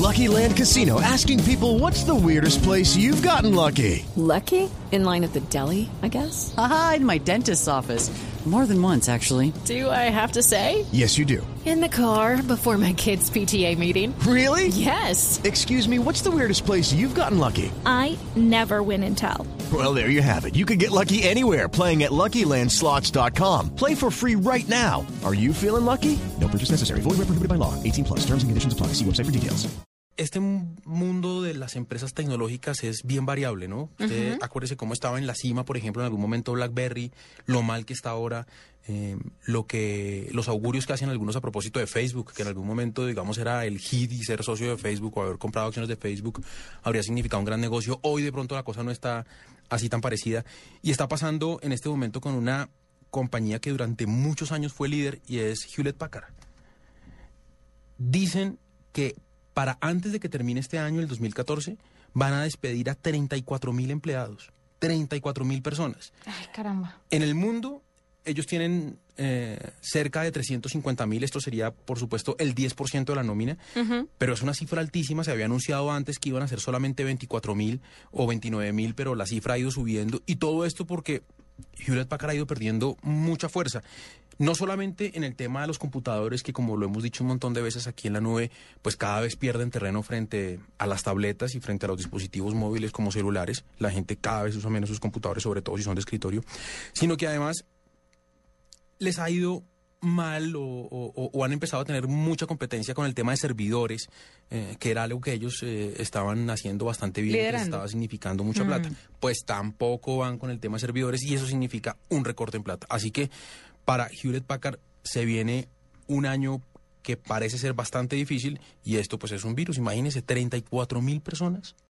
Lucky Land Casino, asking people, what's the weirdest place you've gotten lucky? Lucky? In line at the deli, I guess? Aha, in my dentist's office. More than once, actually. Do I have to say? Yes, you do. In the car before my kids' PTA meeting. Really? Yes. Excuse me, what's the weirdest place you've gotten lucky? I never win and tell. Well, there you have it. You can get lucky anywhere, playing at LuckyLandSlots.com. Play for free right now. Are you feeling lucky? No purchase necessary. Void where prohibited by law. 18 plus. Terms and conditions apply. See website for details. Este mundo de las empresas tecnológicas es bien variable, ¿no? Usted acuérdese cómo estaba en la cima, por ejemplo, en algún momento BlackBerry, lo mal que está ahora, los augurios que hacen algunos a propósito de Facebook, que en algún momento, digamos, era el hit y ser socio de Facebook o haber comprado acciones de Facebook habría significado un gran negocio. Hoy de pronto la cosa no está así tan parecida y está pasando en este momento con una compañía que durante muchos años fue líder y es Hewlett Packard. Dicen que para antes de que termine este año, el 2014, van a despedir a 34,000 empleados, 34,000 personas. Ay, caramba. En el mundo, ellos tienen cerca de 350,000, esto sería, por supuesto, el 10% de la nómina, pero es una cifra altísima, se había anunciado antes que iban a ser solamente 24,000 o 29,000, pero la cifra ha ido subiendo, y todo esto porque Hewlett Packard ha ido perdiendo mucha fuerza. No solamente en el tema de los computadores, que como lo hemos dicho un montón de veces aquí en la nube, pues cada vez pierden terreno frente a las tabletas y frente a los dispositivos móviles como celulares. La gente cada vez usa menos sus computadores, sobre todo si son de escritorio, sino que además les ha ido mal o han empezado a tener mucha competencia con el tema de servidores, que era algo que ellos estaban haciendo bastante bien, que les estaba significando mucha plata. Pues tampoco van con el tema de servidores y eso significa un recorte en plata. Así que para Hewlett Packard se viene un año que parece ser bastante difícil y esto pues es un virus. Imagínense, 34,000 personas